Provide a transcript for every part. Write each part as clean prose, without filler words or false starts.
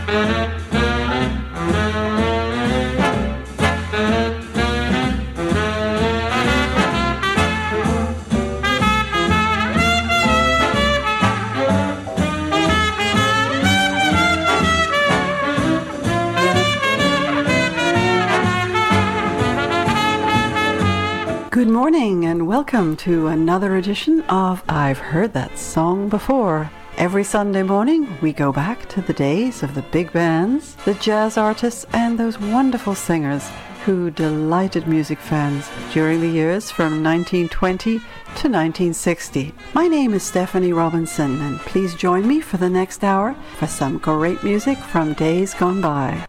Good morning and welcome to another edition of I've Heard That Song Before. Every Sunday morning we go back to the days of the big bands, the jazz artists and those wonderful singers who delighted music fans during the years from 1920 to 1960. My name is Stephanie Robinson and please join me for the next hour for some great music from days gone by.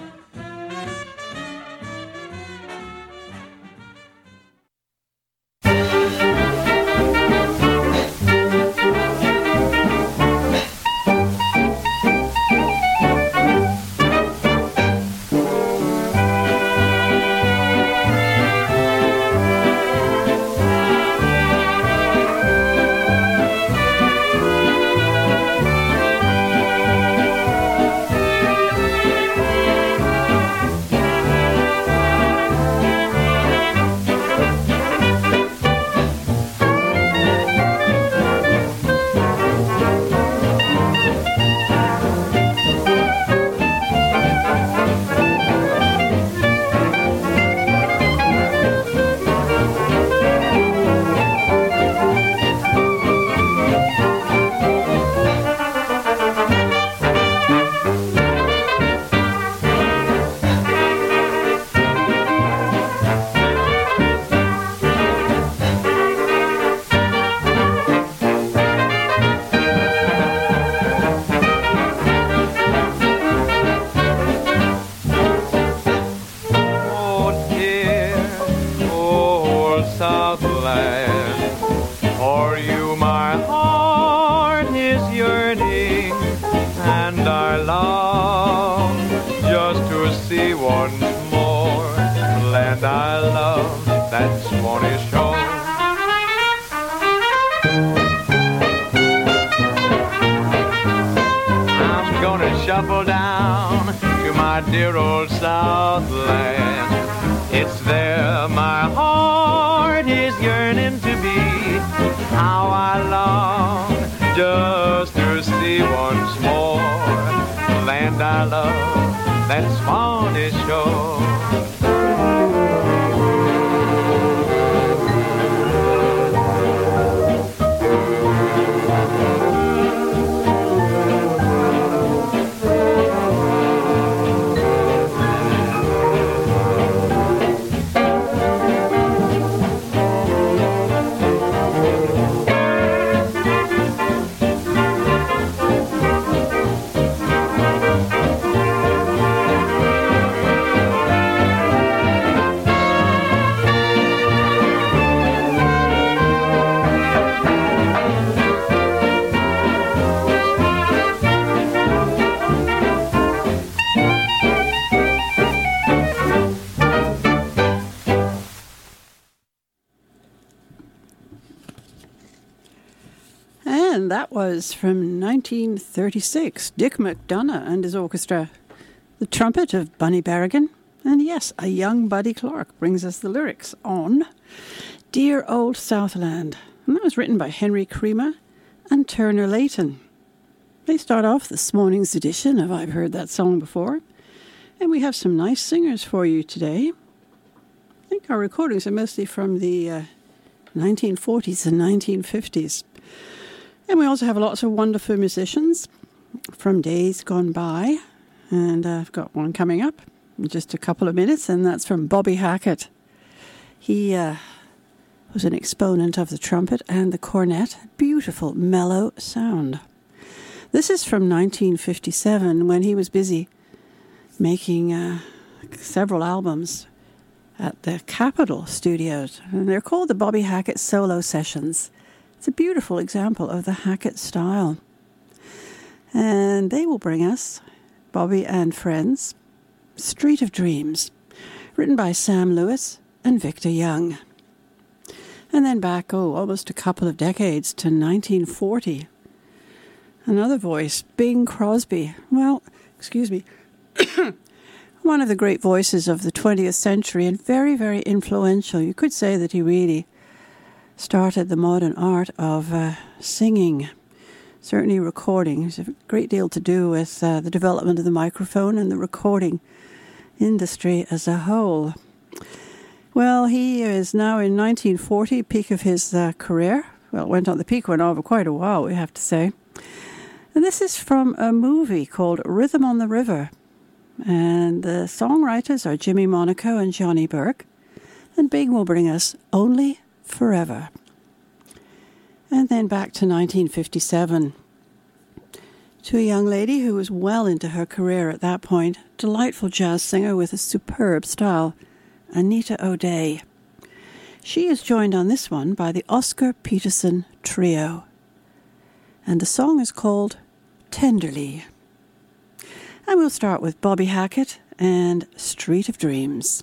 Shuffle down to my dear old Southland. It's there my heart is yearning to be. How I long just to see once more the land I love, that Swanee shore. That was from 1936, Dick McDonough and his orchestra. The trumpet of Bunny Berrigan, and yes, a young Buddy Clark brings us the lyrics on Dear Old Southland. And that was written by Henry Creamer and Turner Layton. They start off this morning's edition of I've Heard That Song Before, and we have some nice singers for you today. I think our recordings are mostly from the 1940s and 1950s. And we also have lots of wonderful musicians from days gone by. And I've got one coming up in just a couple of minutes, and that's from Bobby Hackett. He was an exponent of the trumpet and the cornet. Beautiful, mellow sound. This is from 1957, when he was busy making several albums at the Capitol Studios. And they're called the Bobby Hackett Solo Sessions. It's a beautiful example of the Hackett style. And they will bring us, Bobby and Friends, Street of Dreams, written by Sam Lewis and Victor Young. And then back, almost a couple of decades to 1940. Another voice, Bing Crosby. Well, excuse me. One of the great voices of the 20th century and very, very influential. You could say that he really started the modern art of singing, certainly recording. There's a great deal to do with the development of the microphone and the recording industry as a whole. Well, he is now in 1940, peak of his career. Well, it went on, the peak went on for quite a while, we have to say. And this is from a movie called Rhythm on the River. And the songwriters are Jimmy Monaco and Johnny Burke. And Bing will bring us Only Forever. And then back to 1957. To a young lady who was well into her career at that point, delightful jazz singer with a superb style, Anita O'Day. She is joined on this one by the Oscar Peterson Trio. And the song is called Tenderly. And we'll start with Bobby Hackett and Street of Dreams.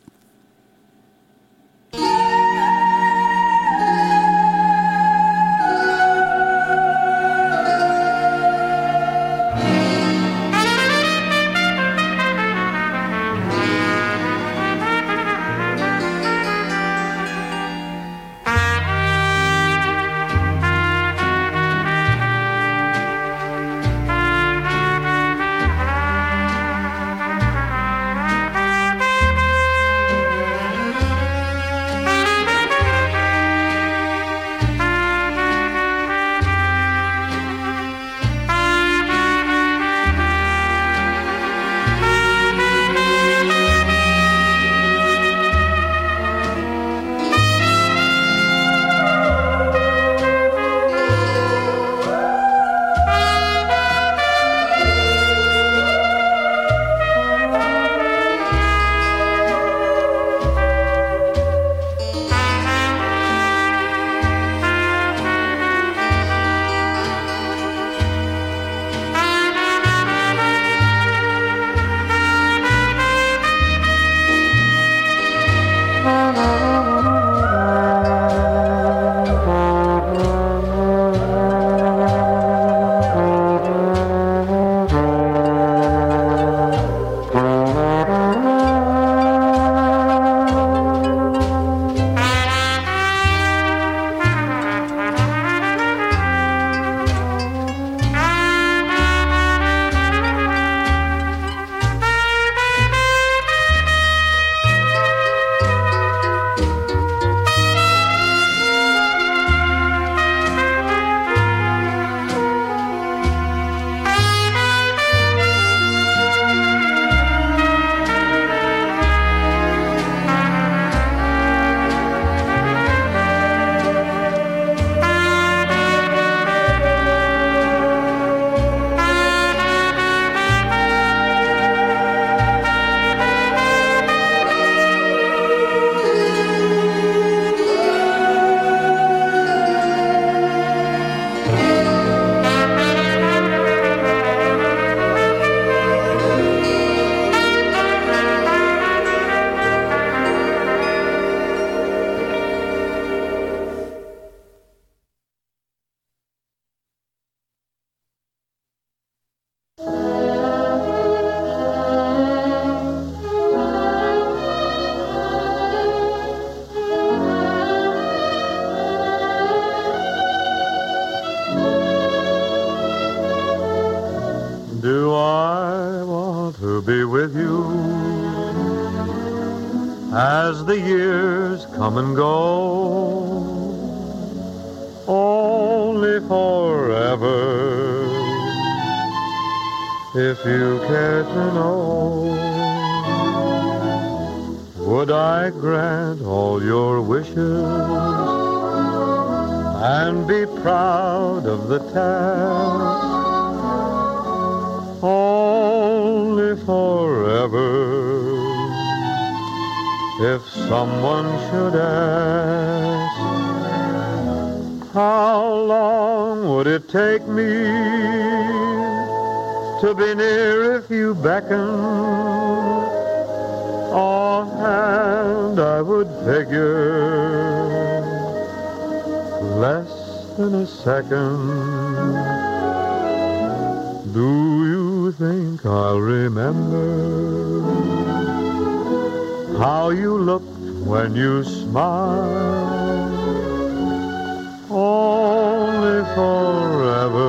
as the years come and go, only forever, if you care to know. Would I grant all your wishes and be proud of the task? Only forever, if someone should ask, how long would it take me to be near if you beckoned? Offhand I would figure less than a second. Do you think I'll remember how you looked when you smiled? Only forever,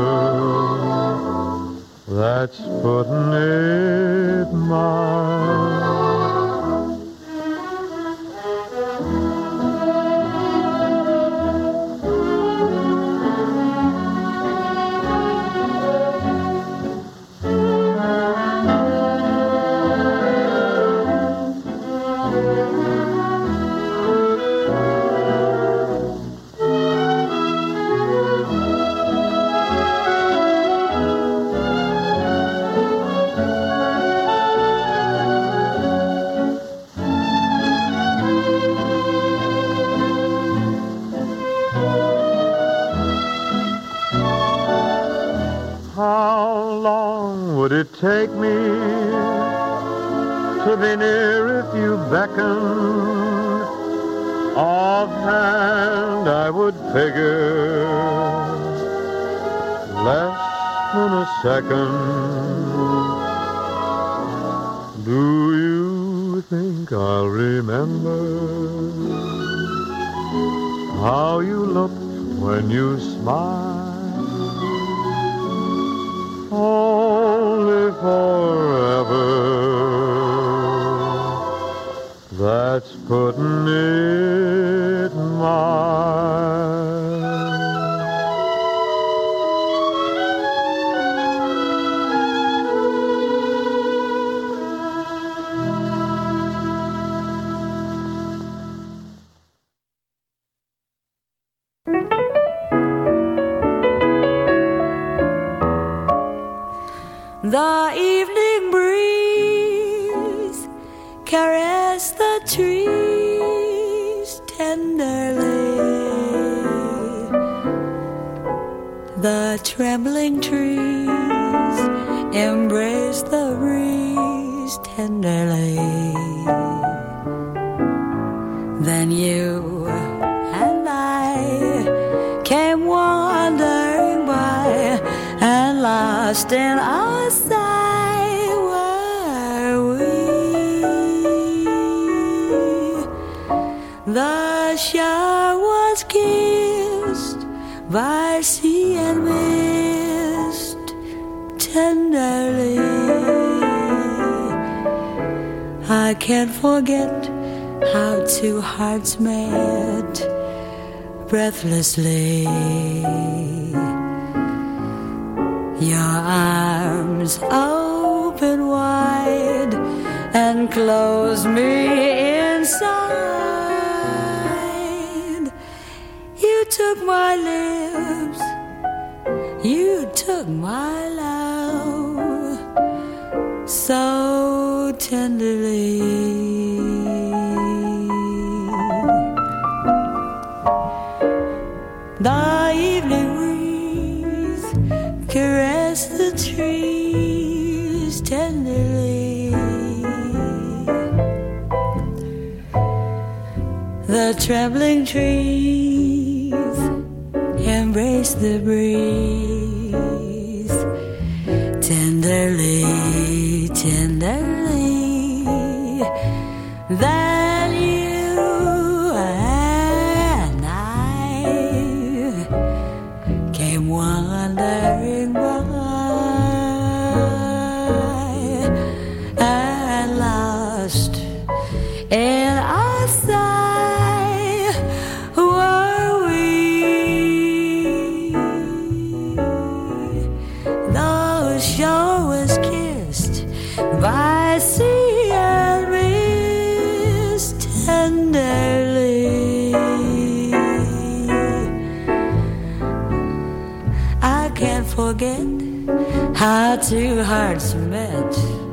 that's putting it mild. Take me to be near if you beckoned. Offhand I would figure less than a second. Do you think I'll remember how you looked when you smiled? Only forever, that's putting it mild. The evening breeze caressed the trees tenderly. The trembling trees embraced the breeze tenderly. Then you and I came wandering by and lost in our sight were we. The shore was kissed by sea and mist tenderly. I can't forget how two hearts met breathlessly. Your arms open wide and close me inside. You took my lips, you took my love so tenderly. The evening breeze caressed the trees tenderly. The trembling trees embraced the breeze tenderly, tenderly. Then you and I came wandering by and lost in our sight were we. The shore was kissed by sea and mist tenderly. I can't forget how two hearts met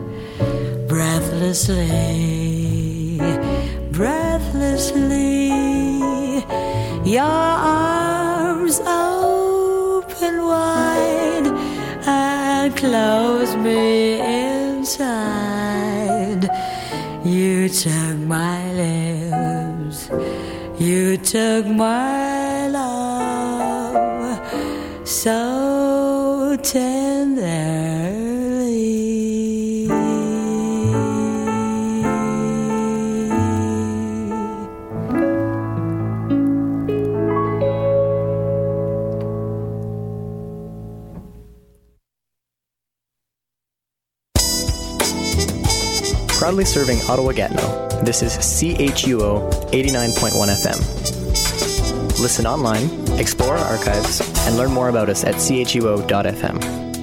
breathlessly, breathlessly. Your arms open wide and close me inside. You took my lips, you took my love so tenderly. Proudly serving Ottawa-Gatineau, this is CHUO 89.1 FM. Listen online, explore our archives, and learn more about us at chuo.fm.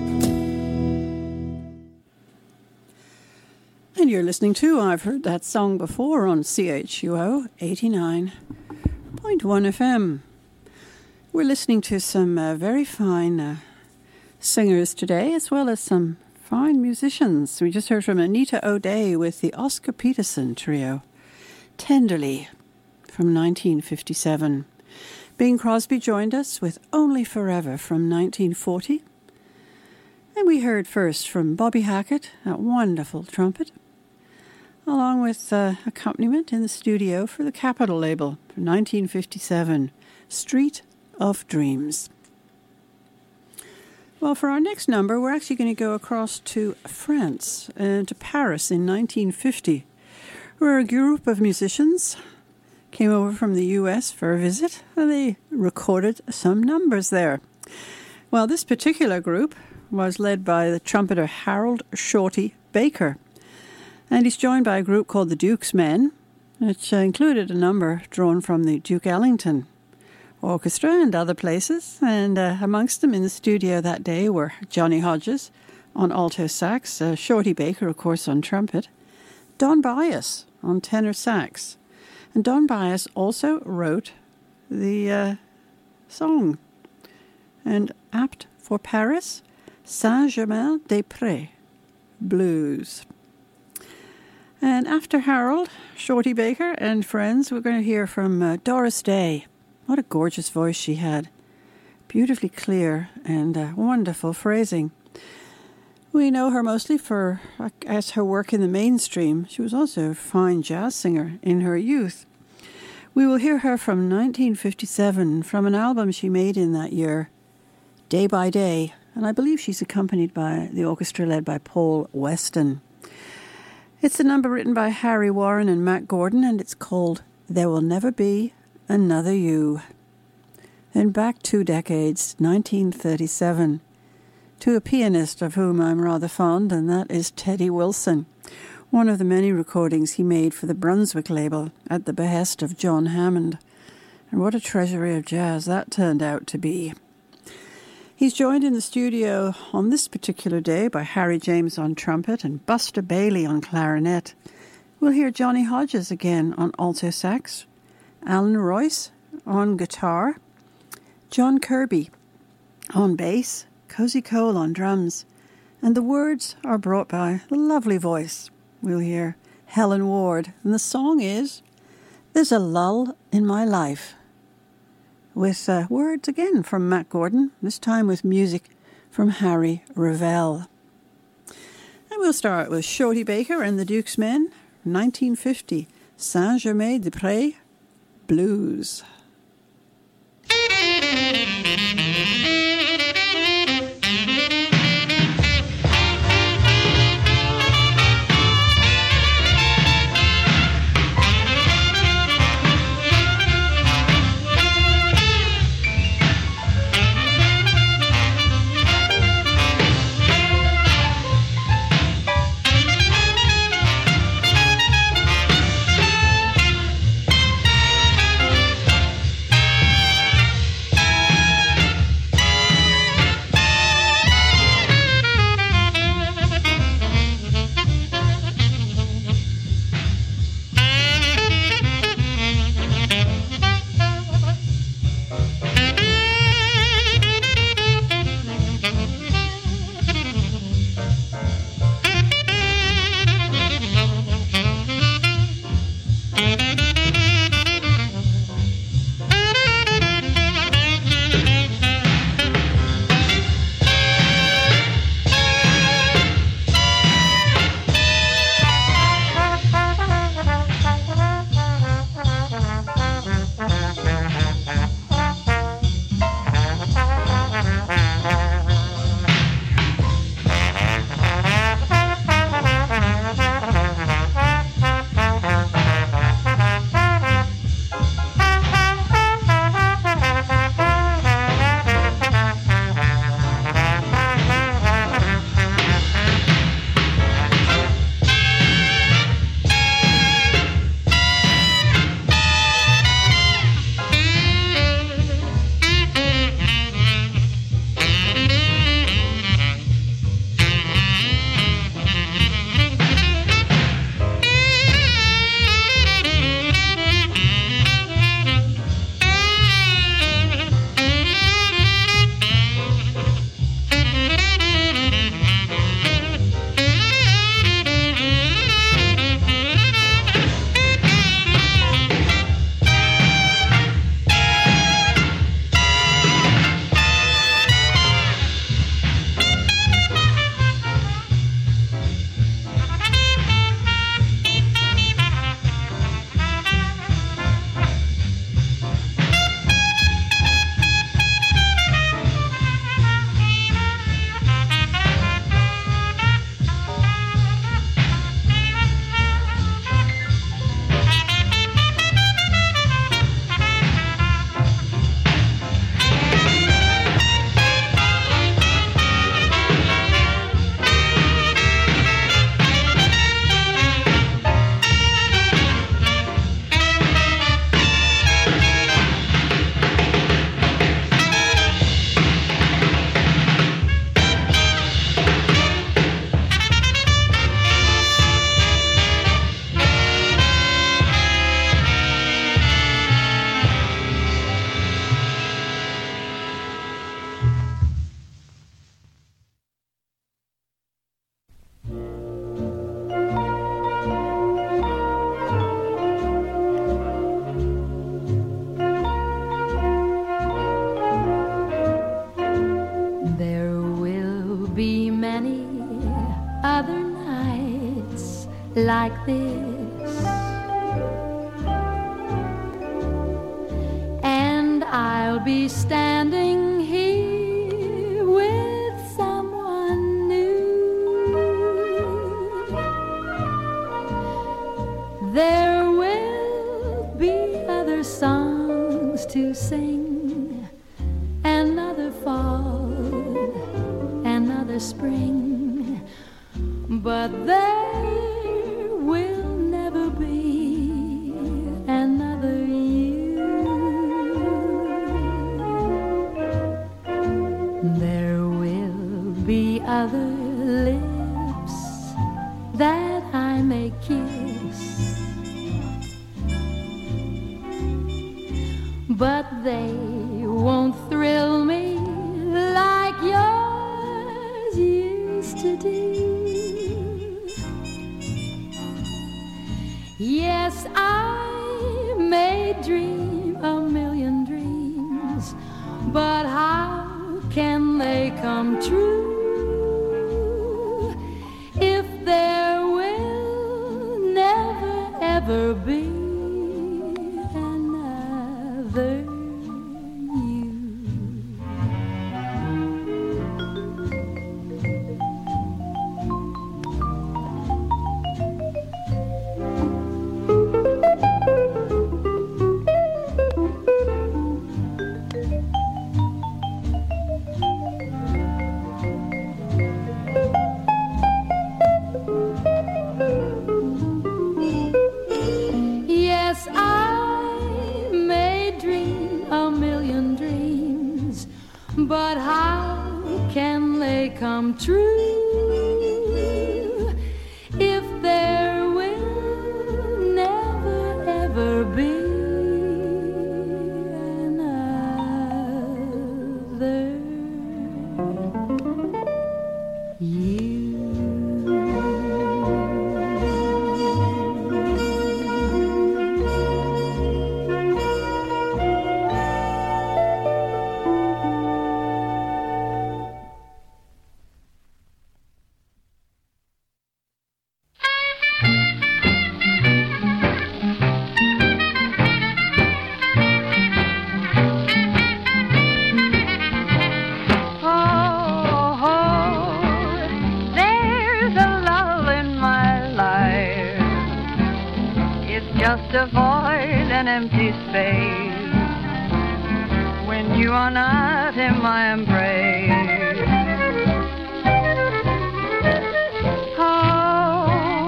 And you're listening to I've Heard That Song Before on CHUO 89.1 FM. We're listening to some very fine singers today, as well as some fine musicians. We just heard from Anita O'Day with the Oscar Peterson Trio, Tenderly, from 1957. Bing Crosby joined us with Only Forever from 1940. And we heard first from Bobby Hackett, that wonderful trumpet, along with accompaniment in the studio for the Capitol label from 1957, Street of Dreams. Well, for our next number, we're actually going to go across to France and to Paris in 1950, where a group of musicians came over from the U.S. for a visit, and they recorded some numbers there. Well, this particular group was led by the trumpeter Harold Shorty Baker, and he's joined by a group called the Duke's Men, which included a number drawn from the Duke Ellington Orchestra and other places, and amongst them in the studio that day were Johnny Hodges on alto sax, Shorty Baker, of course, on trumpet, Don Byas on tenor sax. And Don Byas also wrote the song, and apt for Paris, Saint-Germain-des-Prés Blues. And after Harold, Shorty Baker and friends, we're going to hear from Doris Day. What a gorgeous voice she had. Beautifully clear and wonderful phrasing. We know her mostly for as her work in the mainstream. She was also a fine jazz singer in her youth. We will hear her from 1957, from an album she made in that year, Day by Day, and I believe she's accompanied by the orchestra led by Paul Weston. It's a number written by Harry Warren and Matt Gordon, and it's called There Will Never Be Another You. Then back 2 decades, 1937, to a pianist of whom I'm rather fond, and that is Teddy Wilson, one of the many recordings he made for the Brunswick label at the behest of John Hammond. And what a treasury of jazz that turned out to be. He's joined in the studio on this particular day by Harry James on trumpet and Buster Bailey on clarinet. We'll hear Johnny Hodges again on alto sax, Alan Royce on guitar, John Kirby on bass, Cozy Cole on drums, and the words are brought by the lovely voice. We'll hear Helen Ward, and the song is There's a Lull in My Life, with words again from Matt Gordon, this time with music from Harry Ravel. And we'll start with Shorty Baker and the Duke's Men, 1950, Saint-Germain-des-Prés Blues. other nights like this, and I'll be standing here with someone new. There will be other songs to sing, another fall, another spring, but there will never be another you. There will be other lips that I may kiss, but they won't thrill me like yours used to do. Yes, I may dream a million dreams, but how can they come true if there will never ever be another you? Yes, I may dream a million dreams, but how can they come true if there will never ever be another you? Just a void, an empty space, when you are not in my embrace. Oh,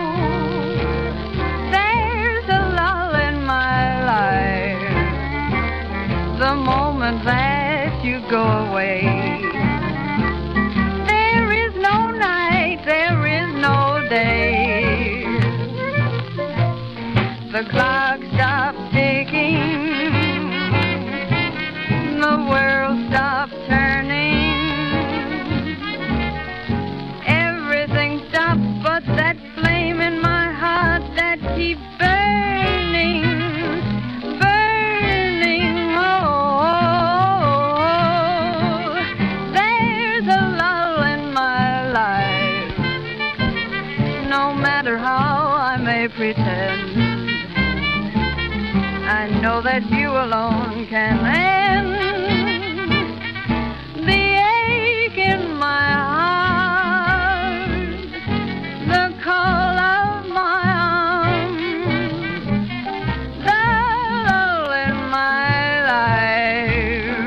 there's a lull in my life, the moment that you go away. There is no night, there is no day. The clock stops ticking, the world stops turning, everything stops but that flame in my heart that keeps burning, burning. Oh, there's a lull in my life, no matter how I may pretend. I know that you alone can end the ache in my heart, the call of my arms, the lull in my life.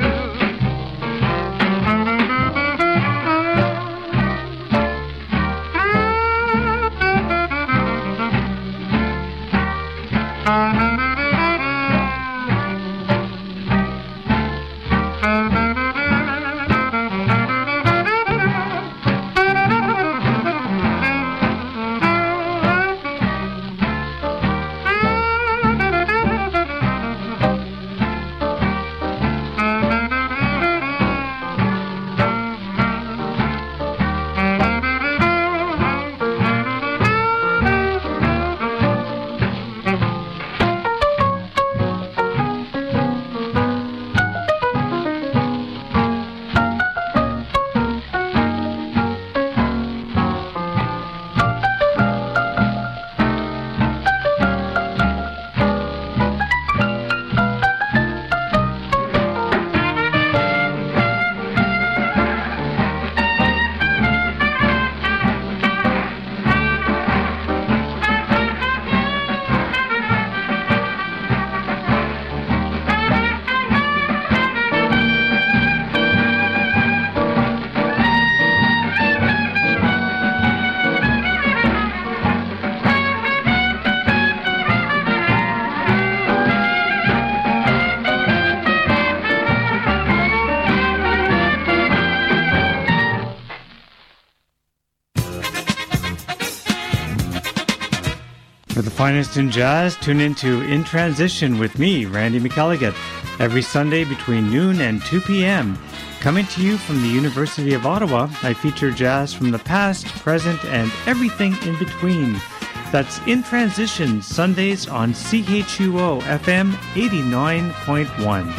For the finest in jazz, tune into In Transition with me, Randy McElligott, every Sunday between noon and 2 p.m. Coming to you from the University of Ottawa, I feature jazz from the past, present, and everything in between. That's In Transition, Sundays on CHUO FM 89.1.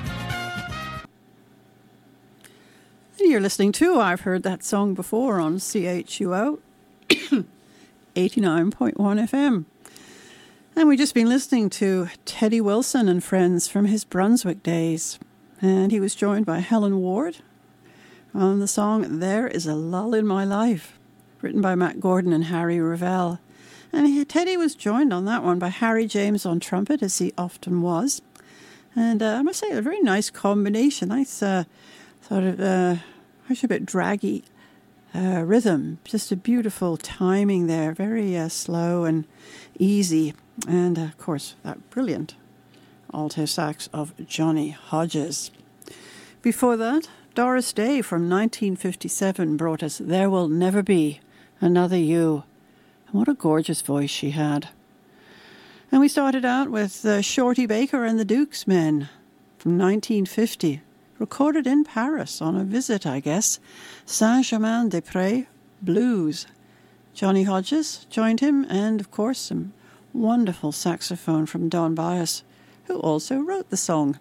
You're listening to I've Heard That Song Before on CHUO 89.1 FM. And we've just been listening to Teddy Wilson and friends from his Brunswick days. And he was joined by Helen Ward on the song There Is a Lull in My Life, written by Matt Gordon and Harry Ravel. And Teddy was joined on that one by Harry James on trumpet, as he often was. And I must say, a very nice combination. Nice sort of, actually a bit draggy rhythm. Just a beautiful timing there. Very slow and easy. And, of course, that brilliant alto sax of Johnny Hodges. Before that, Doris Day from 1957 brought us There Will Never Be Another You. And what a gorgeous voice she had. And we started out with Shorty Baker and the Dukes Men from 1950, recorded in Paris on a visit, I guess, Saint-Germain-des-Prés Blues. Johnny Hodges joined him, and, of course, some wonderful saxophone from Don Byas, who also wrote the song.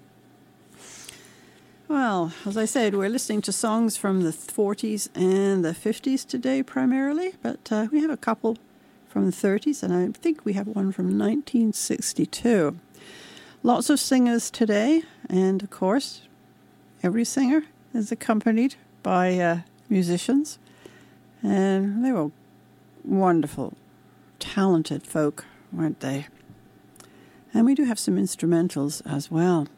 Well, as I said, we're listening to songs from the 40s and the 50s today primarily, but we have a couple from the 30s, and I think we have one from 1962. Lots of singers today, and of course, every singer is accompanied by musicians, and they were wonderful, talented folk, weren't they? And we do have some instrumentals as well.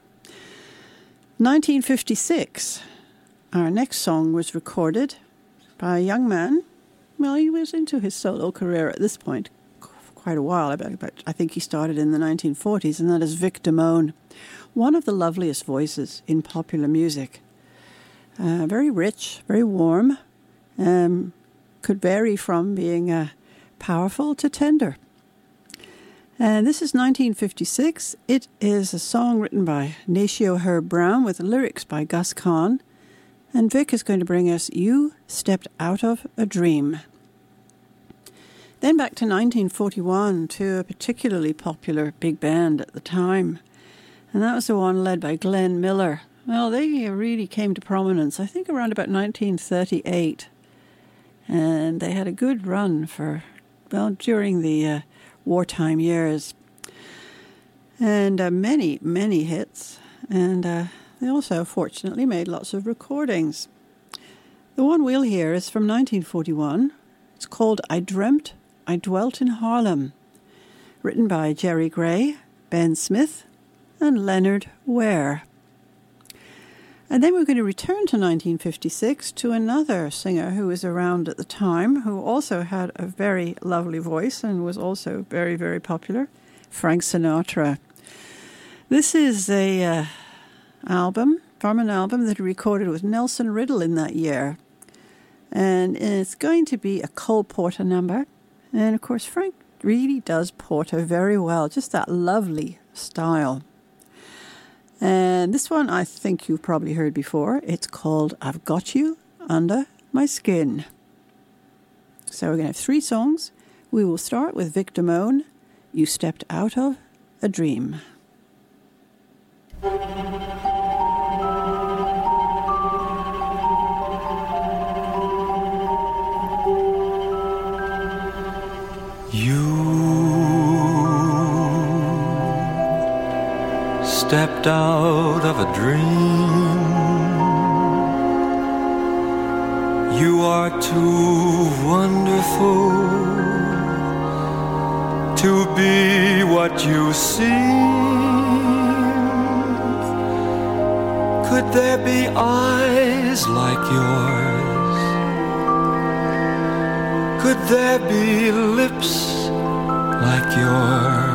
1956, our next song was recorded by a young man. Well, he was into his solo career at this point quite a while, but I think he started in the 1940s, and that is Vic Damone, one of the loveliest voices in popular music. Very rich, very warm, could vary from being powerful to tender. And this is 1956. It is a song written by Nacio Herb Brown with lyrics by Gus Kahn. And Vic is going to bring us You Stepped Out of a Dream. Then back to 1941 to a particularly popular big band at the time. And that was the one led by Glenn Miller. Well, they really came to prominence, I think, around about 1938. And they had a good run for, well, during the wartime years, and many, many hits, and they also fortunately made lots of recordings. The one we'll hear is from 1941. It's called I Dreamt I Dwelt in Harlem, written by Jerry Gray, Ben Smith, and Leonard Ware. And then we're going to return to 1956 to another singer who was around at the time, who also had a very lovely voice and was also very, very popular, Frank Sinatra. This is a album from an album that he recorded with Nelson Riddle in that year. And it's going to be a Cole Porter number. And, of course, Frank really does Porter very well, just that lovely style. And this one I think you've probably heard before. It's called I've Got You Under My Skin. So we're going to have 3 songs. We will start with Vic Damone, You Stepped Out of a Dream. Stepped out of a dream. You are too wonderful to be what you seem. Could there be eyes like yours? Could there be lips like yours?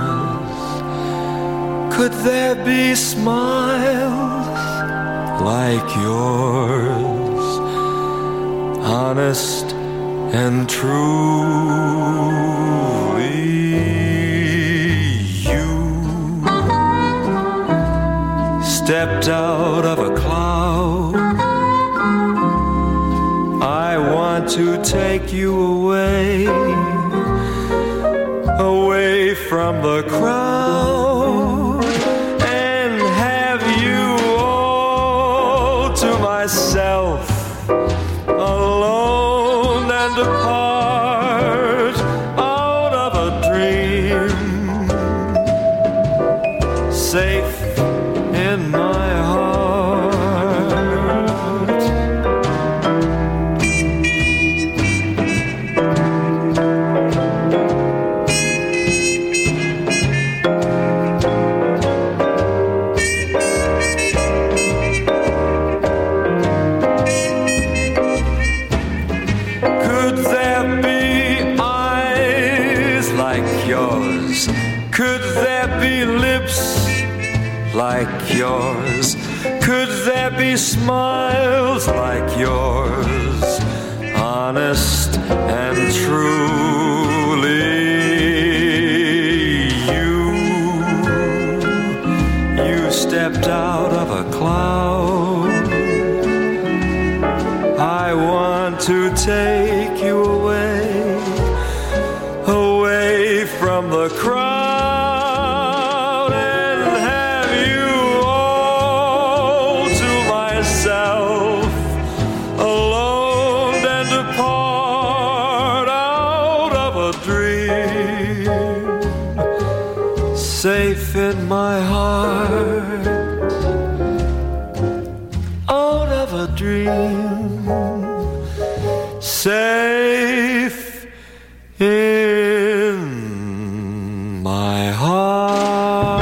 Could there be smiles like yours? Honest and truly you away, away from the crowd, and have you all to myself, alone and apart, out of a dream, safe in my heart. Could there be eyes like yours? Could there be lips like yours? Could there be smiles like yours? Honest and truly you stepped out of a cloud. I want to take you away, away from the crowd, and have you all to myself, alone and apart, out of a dream, safe in my heart, out of a dream, safe in my heart.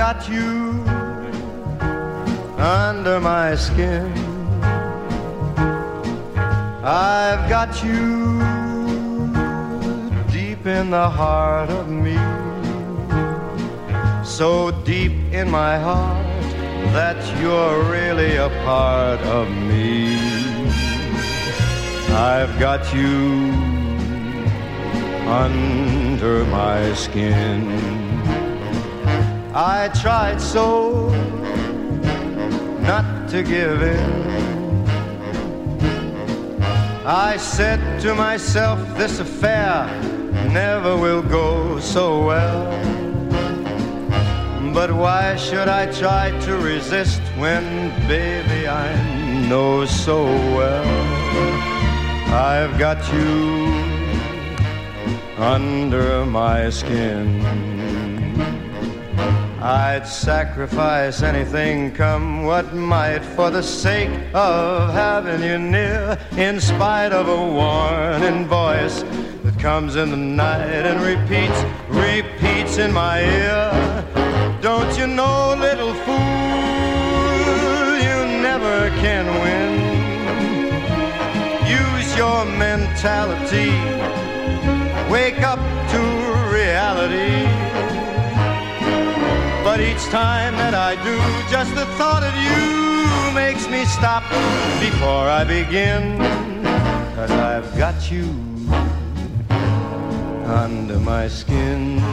got you under my skin. I've got you deep in the heart of me, so deep in my heart that you're really a part of me. I've got you under my skin. I tried so not to give in. I said to myself, this affair never will go so well. But why should I try to resist when, baby, I know so well I've got you under my skin. I'd sacrifice anything, come what might, for the sake of having you near, in spite of a warning voice that comes in the night and repeats in my ear. Don't you know, little fool, you never can win. Use your mentality, wake up to reality. But each time that I do, just the thought of you makes me stop before I begin. 'Cause I've got you under my skin.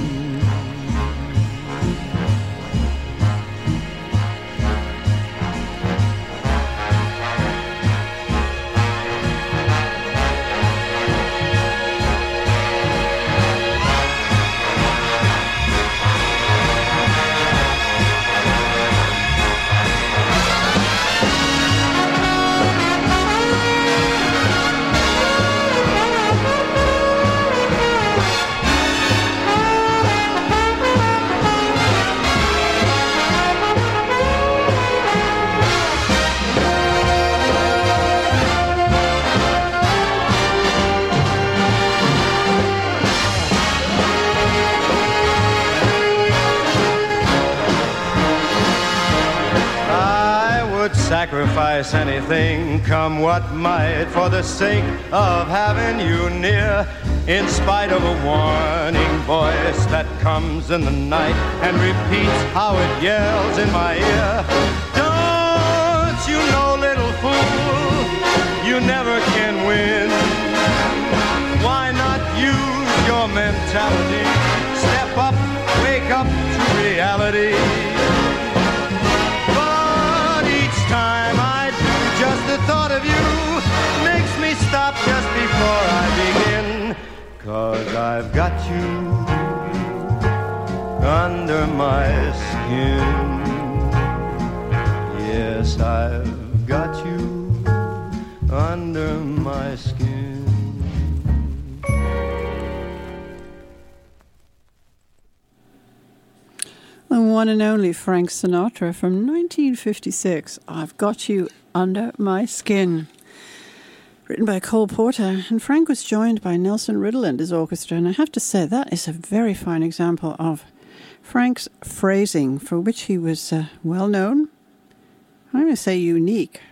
Sacrifice anything, come what might, for the sake of having you near, in spite of a warning voice that comes in the night and repeats how it yells in my ear. Don't you know, little fool, you never can win. Why not use your mentality? Step up, wake up to reality. Time I do, just the thought of you makes me stop just before I begin. 'Cause I've got you under my skin. Yes, I've got you under my skin. The one and only Frank Sinatra from 1956, I've Got You Under My Skin. Written by Cole Porter, and Frank was joined by Nelson Riddle and his orchestra, and I have to say that is a very fine example of Frank's phrasing, for which he was well known. I'm going to say unique.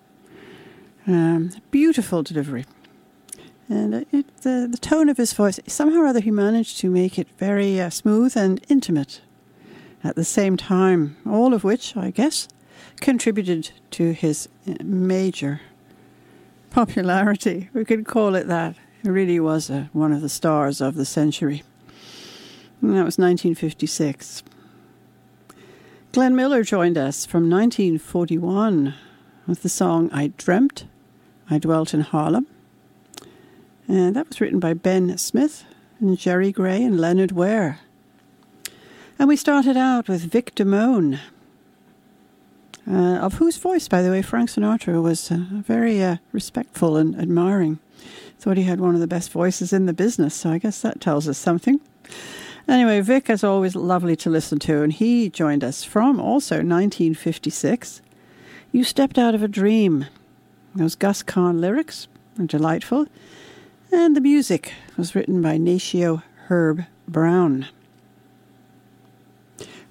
Beautiful delivery. And the tone of his voice, somehow or other he managed to make it very smooth and intimate at the same time, all of which, I guess, contributed to his major popularity. We could call it that. He really was one of the stars of the century. And that was 1956. Glenn Miller joined us from 1941 with the song I Dreamt, I Dwelt in Harlem. And that was written by Ben Smith and Jerry Gray and Leonard Ware. And we started out with Vic Damone, of whose voice, by the way, Frank Sinatra was very respectful and admiring. Thought he had one of the best voices in the business, so I guess that tells us something. Anyway, Vic is always lovely to listen to, and he joined us from also 1956. You Stepped Out of a Dream. Those Gus Kahn lyrics are delightful, and the music was written by Natio Herb Brown.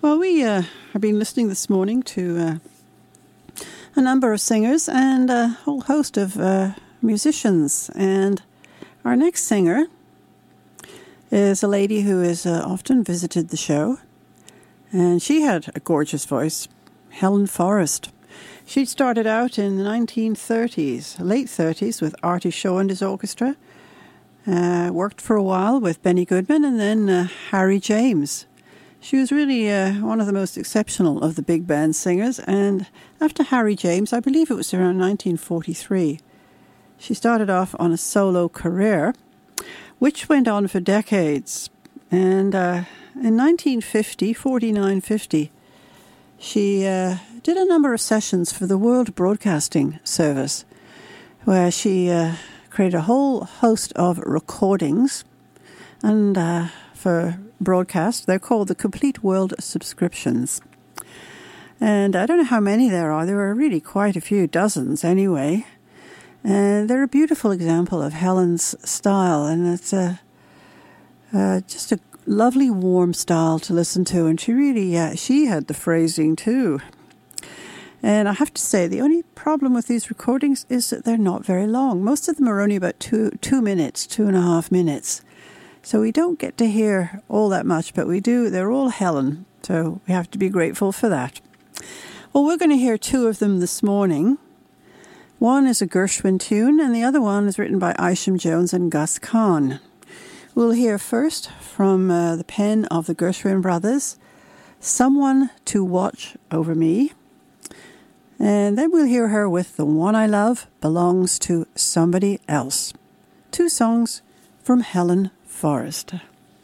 Well, we have been listening this morning to a number of singers and a whole host of musicians. And our next singer is a lady who has often visited the show. And she had a gorgeous voice, Helen Forrest. She started out in the 1930s, late 30s, with Artie Shaw and his orchestra. Worked for a while with Benny Goodman and then Harry James. She was really one of the most exceptional of the big band singers, and after Harry James, I believe it was around 1943, she started off on a solo career, which went on for decades. And in 1950, she did a number of sessions for the World Broadcasting Service, where she created a whole host of recordings, and for broadcast, they're called the Complete World Subscriptions. And I don't know how many there are. There are really quite a few, dozens anyway. And they're a beautiful example of Helen's style, and it's just a lovely, warm style to listen to. And she really, she had the phrasing too. And I have to say, the only problem with these recordings is that they're not very long. Most of them are only about 2 minutes, 2.5 minutes. So we don't get to hear all that much, but we do. They're all Helen, so we have to be grateful for that. Well, we're going to hear two of them this morning. One is a Gershwin tune, and the other one is written by Isham Jones and Gus Kahn. We'll hear first from the pen of the Gershwin brothers, Someone to Watch Over Me. And then we'll hear her with The One I Love Belongs to Somebody Else. Two songs from Helen Forrest.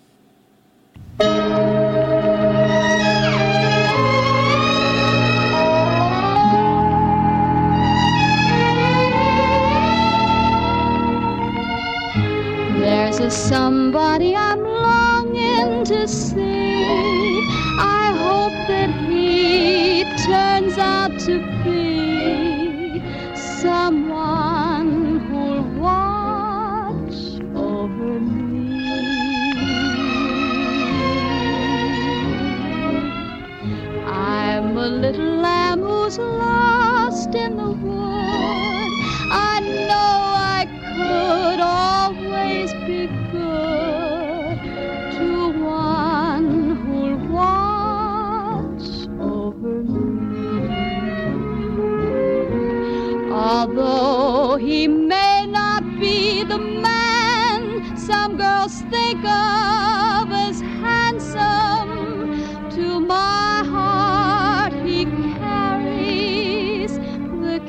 There's a somebody I'm longing to see. I hope that he turns out to be someone who'll watch over me. I'm a little lamb who's lost in the wood. I know I could always be good to one who'll watch over me. Although he may not be the man some girls think of as handsome, to my heart he carries the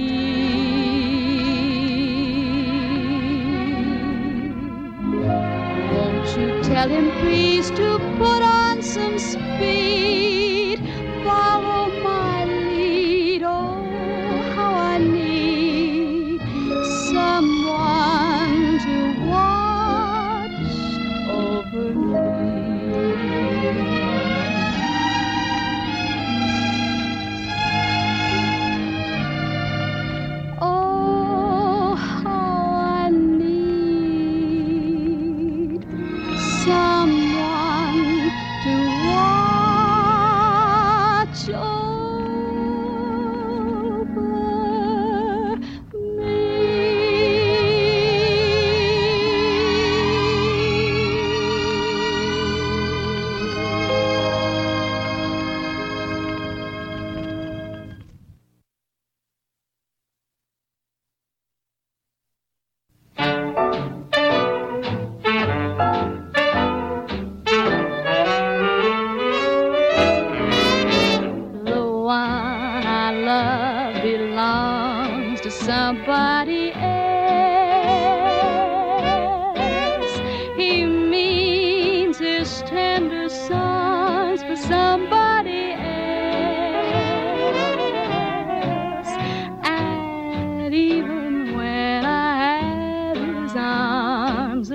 Tell him please to put on some speed, follow my lead. Oh, how I need someone to watch over me. Oh, how I need someone to watch over somebody else. He means his tender songs for somebody else. And even when I had his arms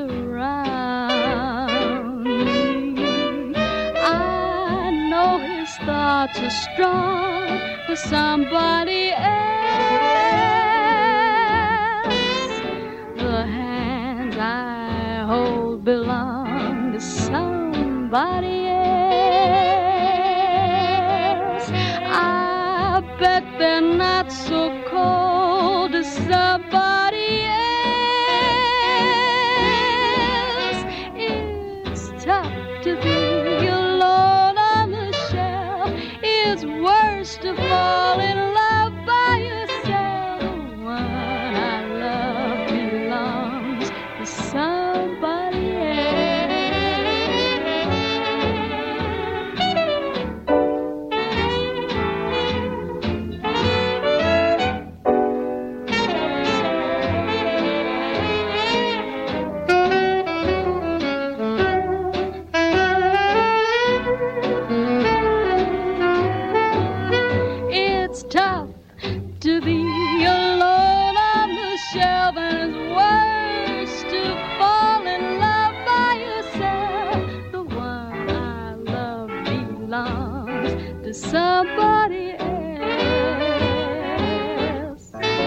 around me, I know his thoughts are strong for somebody else. Belong to somebody else. bet they're not so cold as somebody else. It's tough to be alone on the shelf. It's worse to fall in love by yourself. The one I love belongs to somebody tough to be alone on the shelf, and it's worse to fall in love by yourself. The one I love belongs to somebody else.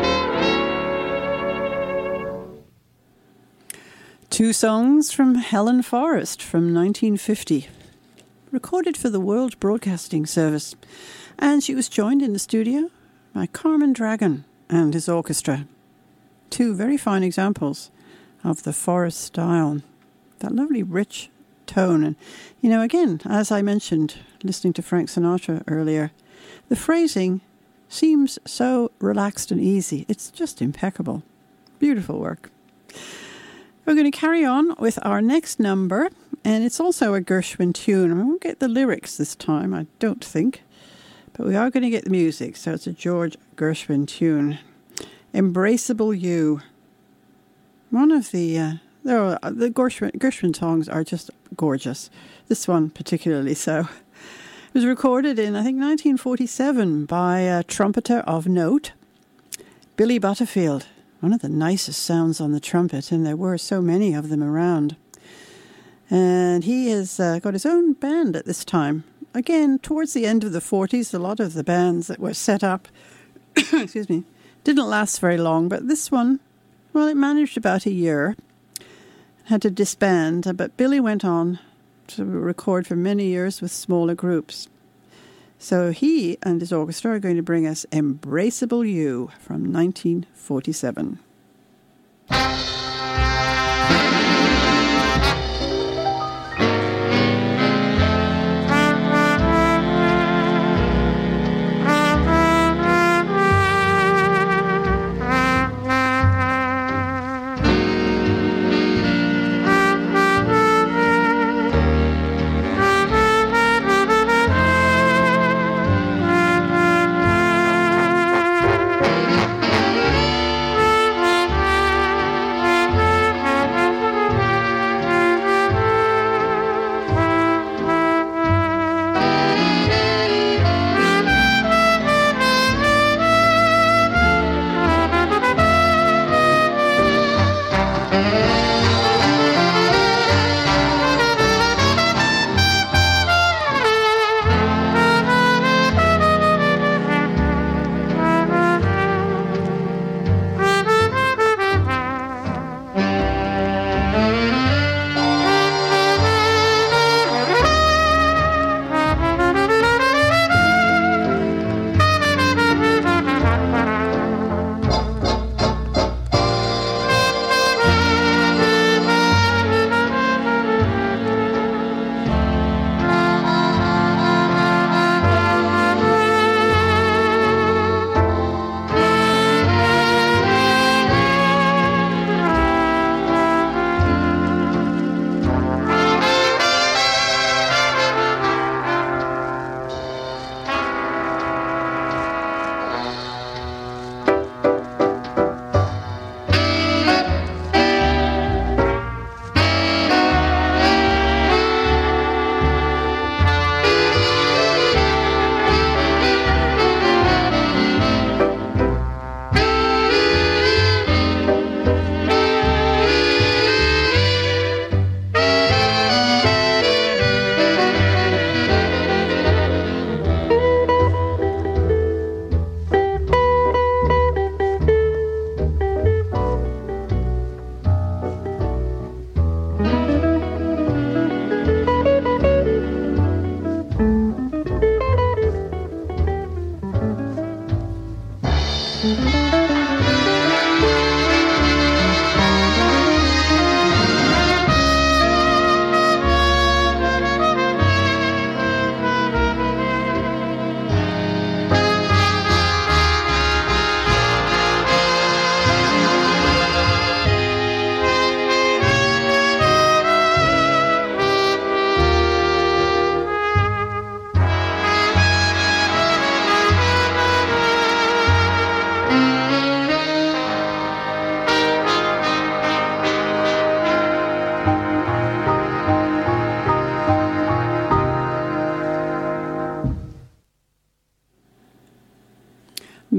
Two songs from Helen Forrest from 1950, recorded for the World Broadcasting Service. And she was joined in the studio by Carmen Dragon and his orchestra. Two very fine examples of the Forrest style. That lovely rich tone. And, you know, again, as I mentioned, listening to Frank Sinatra earlier, the phrasing seems so relaxed and easy. It's just impeccable. Beautiful work. We're going to carry on with our next number, and it's also a Gershwin tune. I won't get the lyrics this time, I don't think. But we are going to get the music, so it's a George Gershwin tune. Embraceable You. One of the Gershwin songs are just gorgeous. This one particularly so. It was recorded in, I think, 1947 by a trumpeter of note, Billy Butterfield. One of the nicest sounds on the trumpet, and there were so many of them around. And he has got his own band at this time. Again, towards the end of the 40s, a lot of the bands that were set up, excuse me, didn't last very long. But this one, well, it managed about a year. Had to disband, but Billy went on to record for many years with smaller groups. So he and his orchestra are going to bring us Embraceable You from 1947.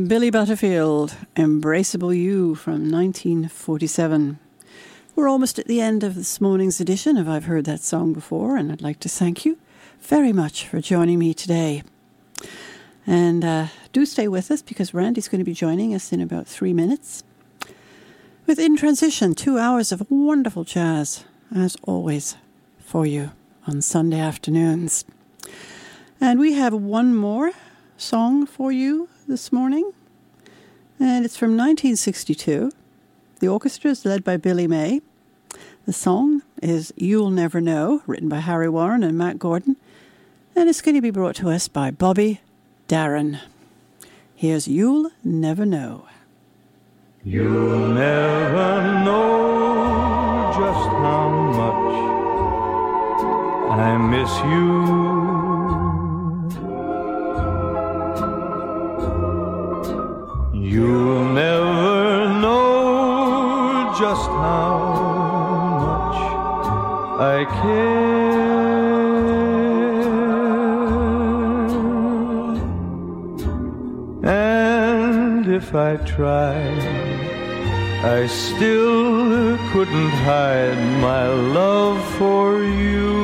Billy Butterfield, Embraceable You from 1947. We're almost at the end of this morning's edition of I've Heard That Song Before, and I'd like to thank you very much for joining me today. And do stay with us because Randy's going to be joining us in about 3 minutes. With In Transition, 2 hours of wonderful jazz, as always, for you on Sunday afternoons. And we have one more song for you this morning, and it's from 1962. The orchestra is led by Billy May. The song is You'll Never Know, written by Harry Warren and Matt Gordon, and it's going to be brought to us by Bobby Darin. Here's You'll Never Know. You'll never know just how much I miss you. You'll never know just how much I care. And if I tried, I still couldn't hide my love for you.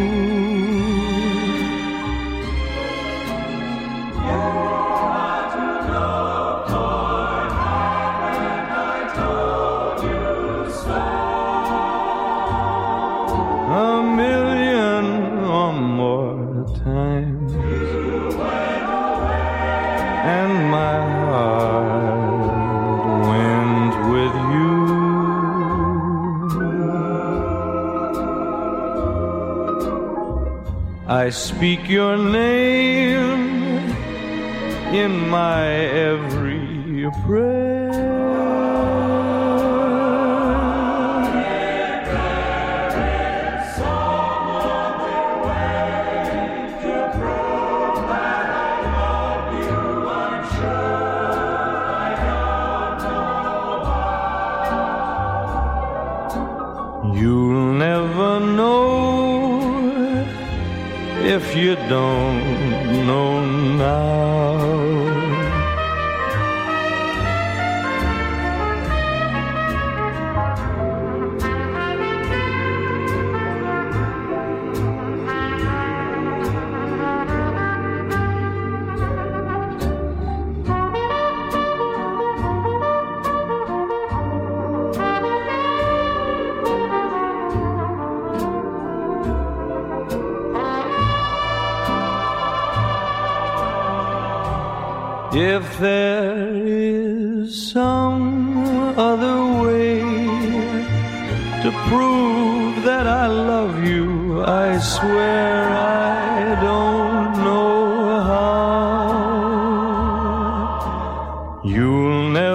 And my heart went with you. I speak your name in my every prayer. You'll never know if you don't know now. If there is some other way to prove that I love you, I swear I don't know how. You'll never